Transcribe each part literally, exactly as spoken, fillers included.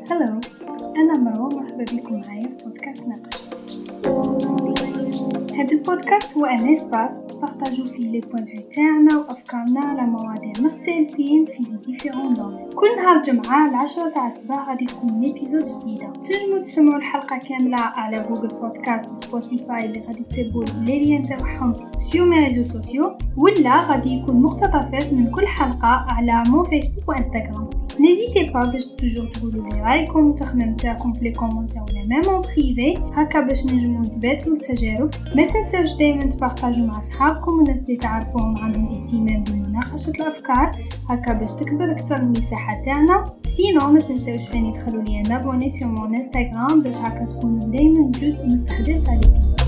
هلو، أنا مروة، مرحبا بكم معايا في بودكاست ناقش. هذا البودكاست هو ان اسباس نبارطاجو فيه لي بوين فيو تاعنا وافكارنا على مواضيع مختلفين في لي ديفيرون دومين. كل نهار جمعة العشرة تاع الصباح غادي تكون ايبيزود جديدة. تنجموا تسمعوا الحلقة كاملة على جوجل بودكاست وسبوتيفاي اللي غادي تسيبوا لي لين تاعهم سيو مي ريزو سوسيو، ولا غادي يكون مقتطفات من كل حلقة على مو فيسبوك وانستغرام. نيزيتي با باش توجور تقولوا لي رايكم وتخمم تاعكم في لي كومونتير ولا ميم اون بريفي، هكا باش نجمو نتبادلوا التجارب. ما تنساوش دائما تبارطاجوا مع اصحابكم والناس اللي تعرفوهم عندهم اهتمام بمناقشه الافكار، هكا باش تكبر اكثر المساحه تاعنا. سينو ما تنساوش ثاني تدخلوا لي انا ابوني سور مون انستغرام باش هكا تكونوا دائما جزء من التحضير تاع الابيزود.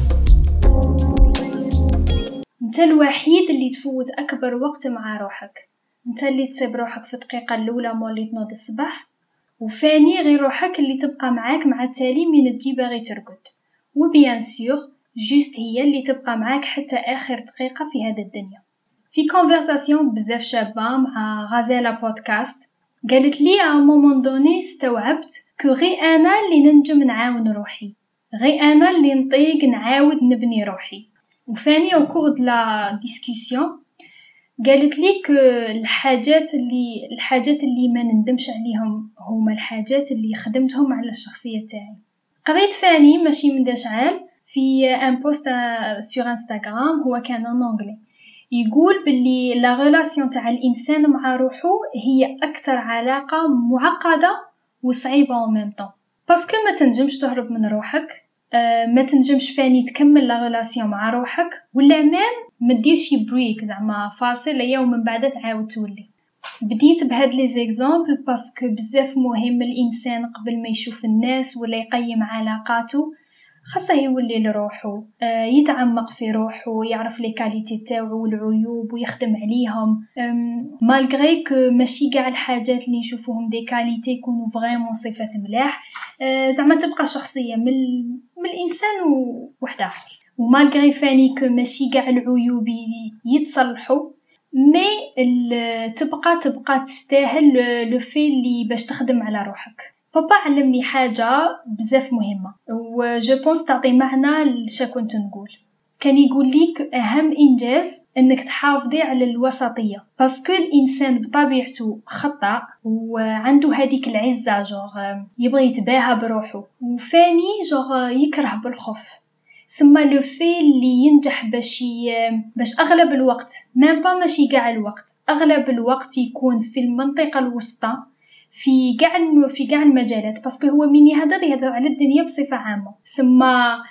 انت الوحيد اللي تفوت اكبر وقت مع روحك، انت اللي تصيب روحك في الدقيقه الاولى مولي تنوض الصباح، وفاني غير روحك اللي تبقى معاك مع التالي من تجي باغي ترقد، وبيان سور جوست هي اللي تبقى معاك حتى اخر دقيقه في هذا الدنيا. في كونفرساسيون بزاف شابه مع غازالا بودكاست قالت لي ا مومون دوني استوعبت كو غي انا اللي ننجم نعاون روحي، غي انا اللي نطيق نعاود نبني روحي. وفاني او كور د لا ديسكوسيون قالت لي ك الحاجات اللي الحاجات اللي ما نندمش عليهم هما الحاجات اللي خدمتهم على الشخصيه تاعي. قريت فاني ماشي من داش عام في ان بوست سور انستغرام، هو كان ان انجلي، يقول باللي لا ريلاسيون تاع الانسان مع روحه هي اكثر علاقه معقده وصعيبه او ميم طون، باسكو ما تنجمش تهرب من روحك، ما تنجمش فاني تكمل لا ريلاسيون مع روحك، ولا ميم ما ديرش بريك زعما فاصل يوم من بعد تعاود تولي. بديت بهاد لي زيكزامبل باسكو بزاف مهم الانسان قبل ما يشوف الناس ولا يقيم علاقاته خاصه يولي لروحه، يتعمق في روحه، يعرف لي كاليتي تاعو والعيوب ويخدم عليهم. مالغري كو ماشي كاع الحاجات اللي نشوفوهم دي كاليتي يكونوا فريمون صفات ملاح، زعما تبقى شخصيه من من الانسان وواحد اخر. ومالغري فاني كو ماشي كاع العيوب يتصلحوا، مي تبقى تبقى تستاهل لو في اللي باش تخدم على روحك. بابا علمني حاجه بزاف مهمه و جو بونس تعطي معنى لشا كنت نقول. كان يقول ليك اهم انجاز انك تحافظي على الوسطيه، باسكو الانسان بطبيعته خطأ وعنده هذيك العزه جوغ يبغي يتباهى بروحه، وفاني جوغ يكره بالخوف. ثم لو في اللي ينجح باش باش اغلب الوقت، ميم با ماشي كاع الوقت، اغلب الوقت يكون في المنطقه الوسطى في كاع في كاع المجالات، باسكو هو من يهضر يهضر على الدنيا بصفه عامه. ثم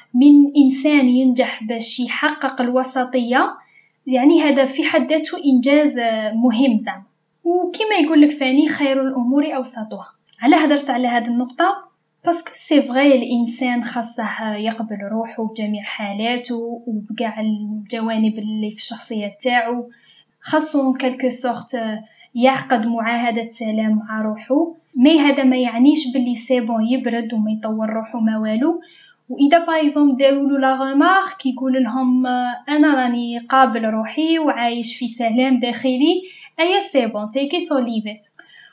من انسان ينجح باش يحقق الوسطيه، يعني هذا في حد ذاته انجاز مهم زعما. وكما يقول لك فاني خير الامور اوسطها. على هضرت على هذه النقطه باسكو سي فغي الانسان خاصه يقبل روحه بجميع حالاته وبكاع الجوانب اللي في الشخصيه تاعو، خاصو كالكو سورت يعقد معاهده سلام مع روحه. مي هذا ما يعنيش باللي سي بون يبرد وما يطور روحه ما والو. واذا بايزوم داولو لا رمارك يقول لهم انا راني قابل روحي وعايش في سلام داخلي، ايا سي بون تيك ات اور ليف ات.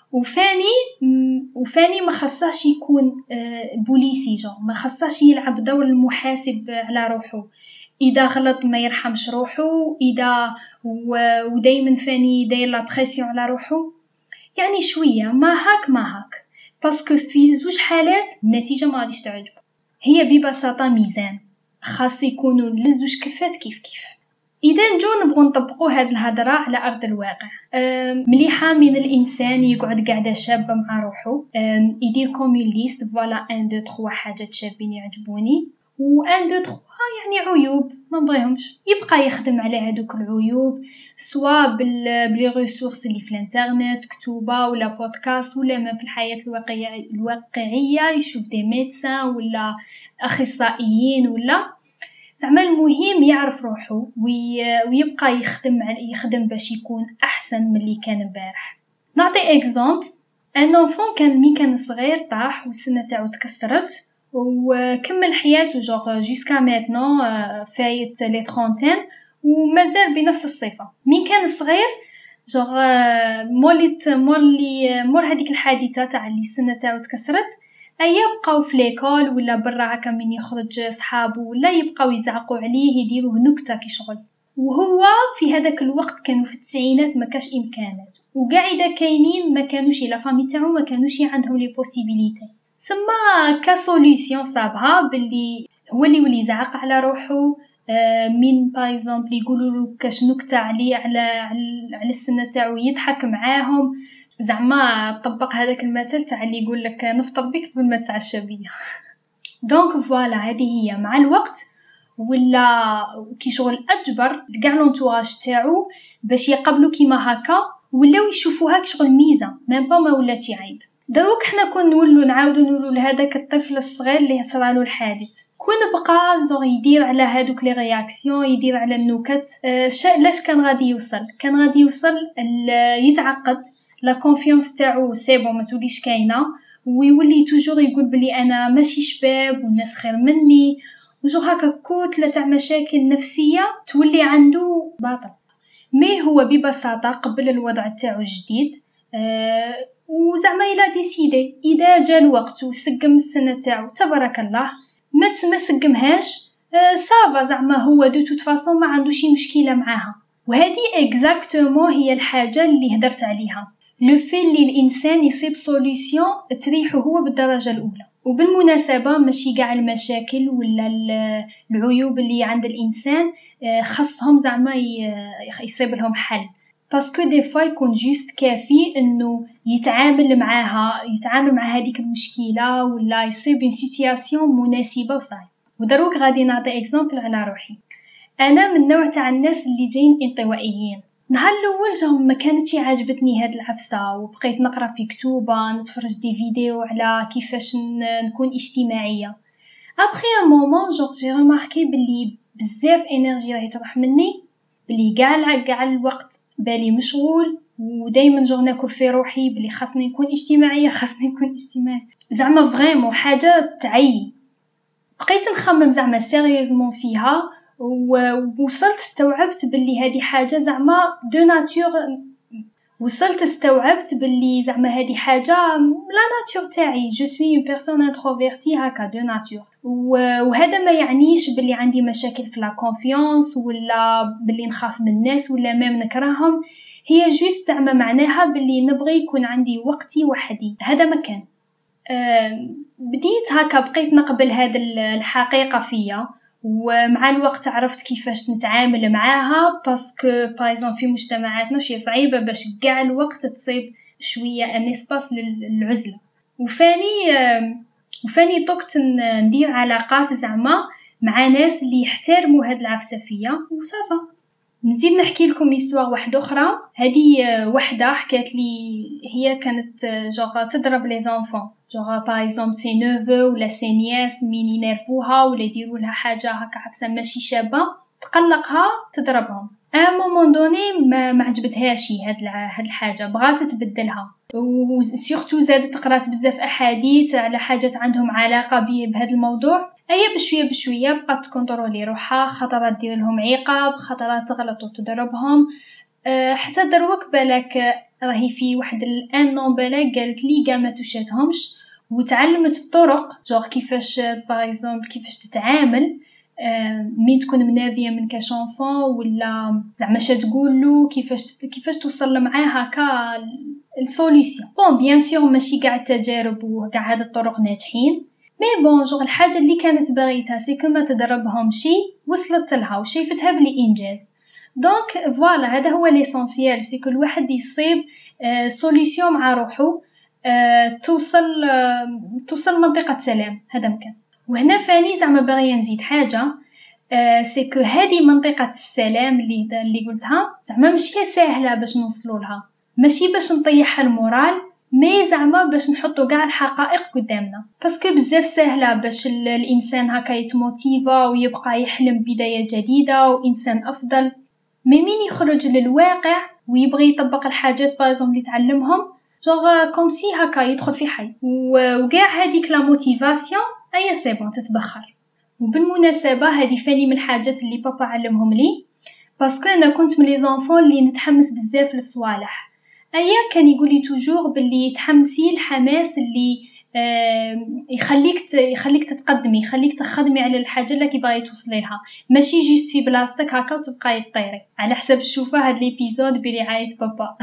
وفاني وفاني ما خصاش يكون بوليسي، جو ما خصاش يلعب دور المحاسب على روحه، اذا غلط ما يرحمش روحه، اذا ودايما فاني داير لا بريسيون على روحه. يعني شويه ما هاك ما هاك، باسكو في زوج حالات النتيجه ما غاديش تعجبه. هي ببساطه ميزان خاص يكونوا لزوج كفات كيف كيف. اذا نجو نبغوا نطبقوا هذه الهضره على ارض الواقع، مليحه من الانسان يقعد قاعده شابه مع روحه، يدير كومون ليست فوالا واحد اثنين ثلاثة حاجات شابين يعجبوني، و واحد اثنين ثلاثة يعني عيوب ما نبغيهمش، يبقى يخدم على هذوك العيوب سواء بلي ريسورس اللي في الانترنت كتوبه ولا بودكاست ولا ما في الحياه الواقعيه الواقعيه يشوف دي ميدسان ولا اخصائيين ولا زعما. المهم يعرف روحه ويبقى يخدم يخدم باش يكون احسن من اللي كان امبارح. نعطي اكزامبل، ان انفون كان مي كان صغير طاح والسنه تاعو تكسرت وكمل حياته جوغ جوسكا ميتنون فايت لي ترونتين ومازال بنفس الصفه. مين كان صغير جوغ موليت مولي مور هذيك الحادثه تاع اللي السنه تاعو تكسرت، ايا بقاو في ليكول ولا برا هكا من يخرج صحابه ولا يبقاو يزعقوا عليه يديروه نكته كي شغل. وهو في هذاك الوقت كانوا في التسعينات ما كاش امكانات، وكاع اذا كاينين ما كانوش لا فامي تاعو ما كانوش عندهم لي بوسيبيليتي. سما كسوليوشن صابها باللي هو اللي ولي يزعق على روحه. آه مين باغ اكزومبل يقولوا له كاش نكته عليه على على السنه تاعو يضحك معاهم، زعما طبق هذاك المثل تاع اللي يقول لك نفطر بك قبل ما تعشى بيا. دونك فوالا هذه هي مع الوقت ولا كي شغل اجبر كاع لونتوراج تاعو باش يقبلوا كيما هكا ولاو يشوفوها كشغل ميزه ميم با ما ولاتش عيب. دروك حنا كون نولوا نعاودوا نقولوا لهذاك الطفل الصغير اللي صرالو الحادث كون بقى زور يدير على هادوك لي رياكسيون يدير على النكت، أه لاش كان غادي يوصل كان غادي يوصل يتعقد لا كونفيونس تاعو سي بون ما توليش كاينه، ويولي توجور يقول بلي انا ماشي شباب والناس خير مني وجور هكا كتله تاع مشاكل نفسيه تولي عنده باطل. مي هو ببساطه قبل الوضع تاعو الجديد أه وزعما الى ديسيدي اذا جا الوقت وسقم السنه تاعو تبارك الله، ما ما سقمهاش أه صافا زعما هو دو توت فاصون ما عنده شي مشكله معاها. وهذه اكزاكتومون هي الحاجه اللي هدرت عليها، لو في اللي الانسان يصيب سوليوشن تريحه هو بالدرجه الاولى. وبالمناسبه ماشي كاع المشاكل ولا العيوب اللي عند الانسان خاصهم زعما يصيب لهم حل، باسكو دي فوا يكون جوست كافي انه يتعامل معاها يتعامل مع هذيك المشكله ولا يصيب اون سيتوياسيون مناسبه وصاي. ودروك غادي نعطي اكزامبل على روحي. انا من نوع تاع الناس اللي جايين انطوائيين. نهار الاول جهم ما كانتش عاجبتني هاد العفسه وبقيت نقرا في كتوبه نتفرج دي فيديو على كيفاش نكون اجتماعيه. ابخي ان مومون جور جي ريماركي بلي بزاف انرجي راهي تروح مني، بلي كاع كاع الوقت بالي مشغول ودائما جور ناكل في روحي بلي خاصني نكون اجتماعيه خاصني نكون اجتماعي زعما فريمون حاجه تعي. بقيت نخمم زعما سيريوزمون فيها ووصلت استوعبت باللي هذه حاجه زعما دو ناتور. وصلت استوعبت باللي زعما هذه حاجه لا ناتور تاعي، جو سوي اون بيرسون انتروفيرتي هكا دو ناتور. وهذا ما يعنيش باللي عندي مشاكل في لا كونفيونس ولا باللي نخاف من الناس ولا ميم نكرههم، هي جوست زعما معناها باللي نبغي يكون عندي وقتي وحدي. هذا ما كان أه بديت هكا بقيت نقبل هذا الحقيقه فيا، ومع الوقت عرفت كيفاش نتعامل معاها باسكو بايزون في مجتمعاتنا شي صعيبه باش كاع الوقت تصيب شويه ان اسباس للعزله. وفاني وفاني طقت ندير علاقات زعما مع ناس اللي يحترموا هاد العفسه فيا وصافا. نزيد نحكي لكم هيستوار واحده اخرى. هذه وحده حكات لي هي كانت جوغ تضرب لي زونفون جوغ باغ اكزومبل سي نوفو ولا سي نياس مين ينرفوها ولا يديروا لها حاجه هكا عفسه ماشي شابه تقلقها تضربهم. ا مومون دوني ما, ما عجبتهاش هاد هاد الحاجه بغات تبدلها، وسورتو زادت قرات بزاف احاديث على حاجات عندهم علاقه بهذا الموضوع. ايا بشويه بشويه بقات تكونترولي روحها، خطرات دير لهم عقاب، خطرات تغلط وتضربهم. أه حتى دروك بالك راهي في واحد الان نون بالك قالت لي كاع ما توشاتهمش وتعلمت الطرق جوغ كيفاش باغ اكزومبل كيفاش تتعامل أه مين تكون مناديه من كاشونفون ولا زعما اش تقول له كيفاش كيفاش توصل معاه هكا السوليوشن. بون بيان سور ماشي كاع التجارب وكاع هاد الطرق ناجحين، مي بون جوغ الحاجه اللي كانت باغيتها سي كما تدربهم شي وصلت لها وشايفتها بلي انجاز. دونك فوالا هذا هو ليسونسيال، سي كل واحد يصيب آه سوليوشن مع روحه آه توصل آه توصل منطقه سلام. هذا مكان. وهنا فاني زعما باغيه نزيد حاجه آه سي كو هذه منطقه السلام اللي اللي قلتها زعما ماشي سهله باش نوصلوا لها، ماشي باش نطيحها المورال، مي زعما باش نحطوا كاع الحقائق قدامنا. باسكو بزاف سهله باش الانسان هكا يتموتيفا ويبقى يحلم بدايه جديده وانسان افضل، مي مين يخرج للواقع ويبغي يطبق الحاجات بارزوم اللي تعلمهم جوغ كوم سي هكا يدخل في حي وكاع هذيك لا موتيفاسيون ايا سي بون تتبخر. وبالمناسبه هذه فاني من الحاجات اللي بابا علمهم لي باسكو انا كنت من لي زونفون اللي نتحمس بزاف للصوالح. ايا كان يقول لي توجور باللي تحمسي الحماس اللي آه يخليك يخليك تتقدمي، يخليك تخدمي على الحاجه اللي كيبغي توصلي لها، ماشي جوست في بلاصتك هكا وتبقاي طيري على حسب الشوفه. هاد ليبيزود بلي عايت بابا.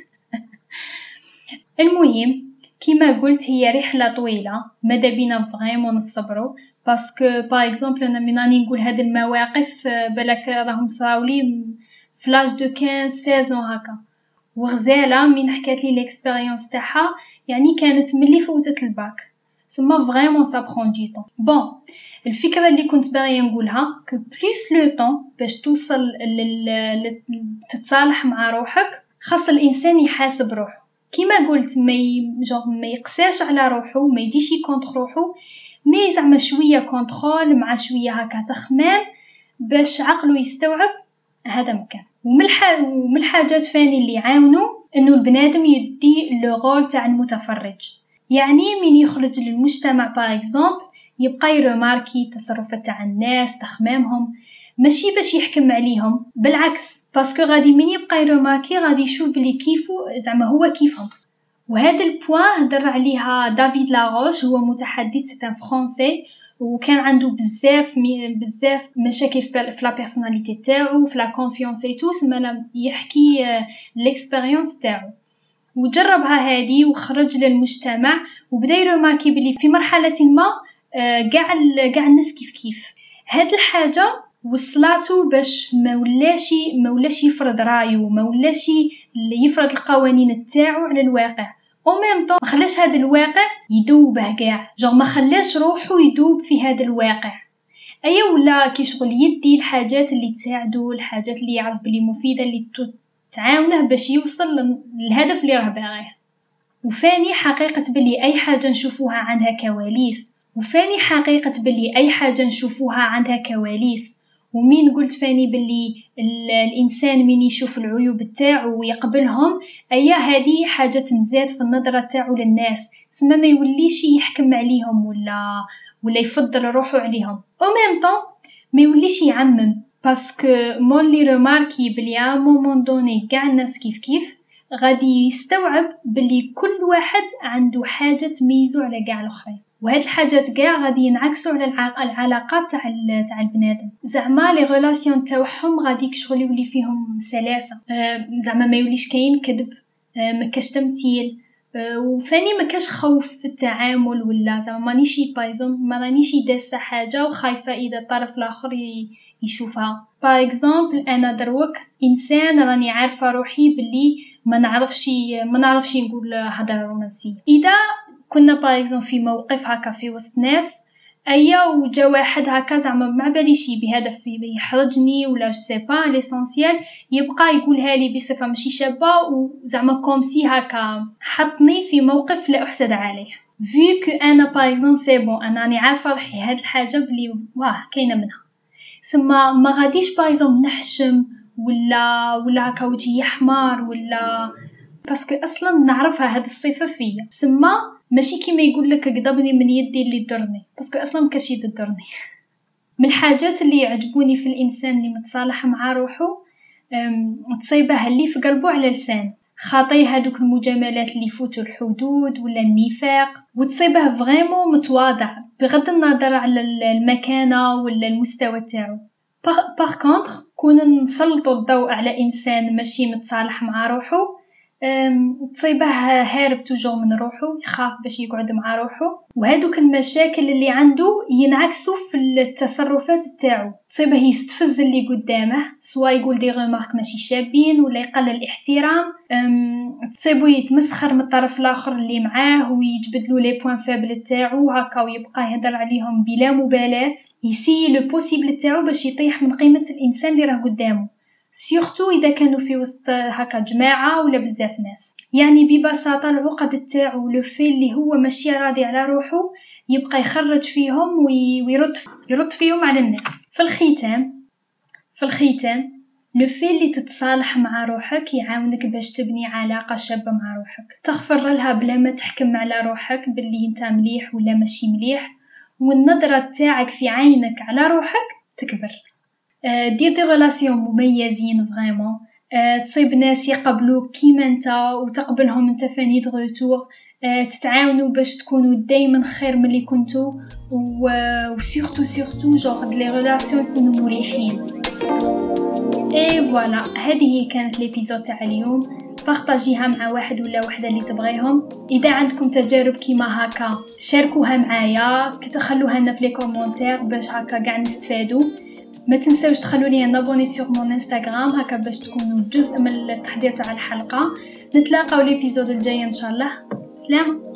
المهم كيما قلت هي رحله طويله، ماذا بينا فريمون نصبروا، باسكو باغ اكزومبل انا من راني نقول هاد المواقف بالك راهم صراولي فلاج دو خمسطاش ستة عشر هكا. وغزاله من حكات لي ليكسبيريونس تاعها يعني كانت ملي فوتت الباك، سما فريمون سا برون دو طون. بون الفكره اللي كنت باغيه نقولها كو بليس لو طون باش توصل لل تتصالح مع روحك، خاص الانسان يحاسب روحه. كيما قلت ما جونغ ما يقساش على روحه، ما يجيش كونتر روحه، مي زعما شويه كونترول مع شويه هكا تخمام باش عقله يستوعب هذا مكان. ومن الحاجات فاني اللي يعاونوا انه البنادم يدي لو رول تاع المتفرج، يعني من يخرج للمجتمع باغ اكزومبل يبقى يرماركي تصرفات تاع الناس تخمامهم، ماشي باش يحكم عليهم، بالعكس باسكو غادي من يبقى يرماركي غادي يشوف بلي كيفو زعما هو كيفهم. وهذا البوان هدر عليها دافيد لاروش، هو متحدث تاع فرونسي وكان عنده بزاف بزاف مشاكل في لا بيرسوناليتي تاعو في لا كونفيونس اي تو، سما يحكي ليكسبيريونس تاعو وجربها هذه وخرج للمجتمع وبدا يرماركي بلي في مرحله ما كاع كاع الناس كيف كيف. هاد الحاجه وصلاتو باش ما ولاش ما ولاش يفرض رايه، ما ولاش يفرض القوانين تاعو على الواقع، او ميم طون ما خلاش هذا الواقع يدوبه كاع، جو ما خلاش روحو يدوب في هذا الواقع. ايا ولا كي شغل يدي الحاجات اللي تساعدو، الحاجات اللي يعرف بلي مفيده اللي تعاونه باش يوصل للهدف اللي راه باغيه. وفاني حقيقه بلي اي حاجه نشوفوها عندها كواليس، وفاني حقيقه بلي اي حاجه نشوفوها عندها كواليس. ومين قلت فاني بلي الانسان من يشوف العيوب تاعو ويقبلهم، ايا هذه حاجه تنزاد في النظره تاعو للناس، سما ما يوليش يحكم عليهم ولا ولا يفضل روحه عليهم، او ميم طون ما يوليش يعمم، باسكو مون لي رماركي بلي ا مومون دوني كاع الناس كيف كيف غادي يستوعب بلي كل واحد عنده حاجه تميزو على كاع الاخرين، وهاد الحاجات كاع غادي ينعكسوا على العلاقات تاع تاع البنادم. زعما لي ريلاسيون تاعهم غادي كشغل يولي فيهم سلاسه، زعما ما يوليش كاين كذب، ما كاش تمثيل، وفاني ما كاش خوف في التعامل، ولا زعما مانيشي بايزون ما رانيش داسه حاجه وخايفه اذا الطرف الاخر يشوفها. باغ اكزومبل انا دروك انسان راني عارفه روحي بلي ما نعرفش ما نعرفش نقول هضره رومانسيه، اذا كنا باغ اكزومبل في موقف هكا في وسط ناس ايا وجا واحد هكا زعما ما باليش بهدف يحرجني ولا جو سي با ليسونسيال يبقى يقولها لي بصفه ماشي شابه وزعما كومسي هكا حطني في موقف لا احسد عليه، vu que انا باغ اكزومبل سي بون انا راني عارفه روحي هاد الحاجه بلي واه كاينه منها، سما ما غاديش باغ اكزومبل نحشم ولا ولا هكا وجهي احمر ولا، باسكو اصلا نعرفها هاد الصفه فيا، سما ماشي كيما يقول لك قضبني من يدي اللي ضرني، باسكو اصلا ما كاش يد ضرني. من الحاجات اللي يعجبوني في الانسان اللي متصالح مع روحه تصيبه اللي في قلبه على لسان، خاطي هادوك المجاملات اللي يفوتوا الحدود ولا النفاق، وتصيبه فريمون متواضع بغض النظر على المكانه ولا المستوى تاعو. باغ كونطخ كون نسلطوا الضوء على انسان ماشي متصالح مع روحه تصيبه هارب توجور من روحه، يخاف باش يقعد مع روحه، وهادوك المشاكل اللي عنده ينعكسوا في التصرفات تاعو، تصيبه يستفز اللي قدامه سواء يقول دي غمارك ماشي شابين ولا يقلل الاحترام، تصيبه يتمسخر من الطرف الاخر اللي معاه ويجبد له لي بوين فابل تاعو هكا ويبقى يهضر عليهم بلا مبالاه، يسي لو بوسيبل تاعو باش يطيح من قيمه الانسان اللي راه قدامه، سيرتو اذا كانوا في وسط هكا جماعه ولا بزاف ناس. يعني ببساطه العقد تاعو لو في اللي هو ماشي راضي على روحه يبقى يخرج فيهم ويرد يرد فيهم على الناس. في الختام في الختام لو في اللي تتصالح مع روحك يعاونك باش تبني علاقه شابه مع روحك، تغفر لها بلا ما تحكم على روحك باللي انت مليح ولا ماشي مليح، والنظره تاعك في عينك على روحك تكبر. دير دي ريلاسيون مميزين فريمون، تصيب ناس يقبلوك كيما انت وتقبلهم انت فاني دو روتور، تتعاونوا باش تكونوا دائما خير من اللي كنتوا، وسورتو سورتو جوغ لي ريلاسيون يكونوا مريحين. اي فوالا، هذه كانت ليبيزود تاع اليوم. بارطاجيها مع واحد ولا وحده اللي تبغيهم. اذا عندكم تجارب كيما هكا شاركوها معايا، كتخلوها لنا في لي كومونتير باش هكا كاع نستفادوا. ما تنساوش تخلوا لي نابوني سور مون انستغرام هكا باش تكونوا جزء من التحضير تاع الحلقه. نتلاقاو ليبيزود الجاي ان شاء الله. سلام.